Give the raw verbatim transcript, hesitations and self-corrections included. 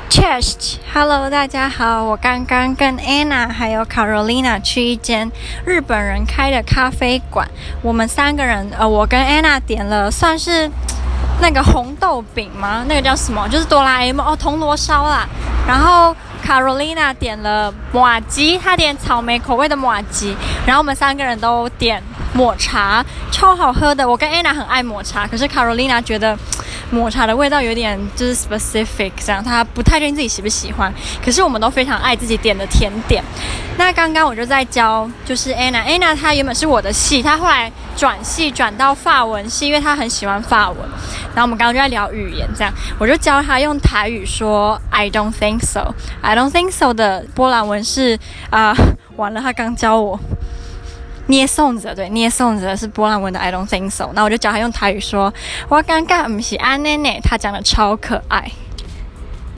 Cheers！Hello， 大家好，我剛剛跟 Anna 還有 Carolina 去一間日本人開的咖啡館。我們三個人，呃，我跟 Anna 點了算是那個紅豆餅嗎？那個叫什麼？就是哆啦 A 夢哦，銅鑼燒啦。然後 Carolina 點了麻糬，她點草莓口味的麻糬。然後我們三個人都點抹茶，超好喝的。我跟 Anna 很愛抹茶，可是 Carolina 覺得抹茶的味道有點就是 specific 這樣，她不太確定自己喜不喜歡。可是我們都非常愛自己點的甜點。那剛剛我就在教，就是 Anna，Anna 她原本是我的系，她後來轉系轉到法文系，因為她很喜歡法文。然後我們剛剛就在聊語言，這樣我就教她用台語說 I don't think so。I don't think so 的波蘭文是啊、呃，完了，她剛教我。捏粽子，對，捏粽子是波蘭文的 I don't think so。那我就教他用台語說，我感覺不是這樣呢，他講的超可愛。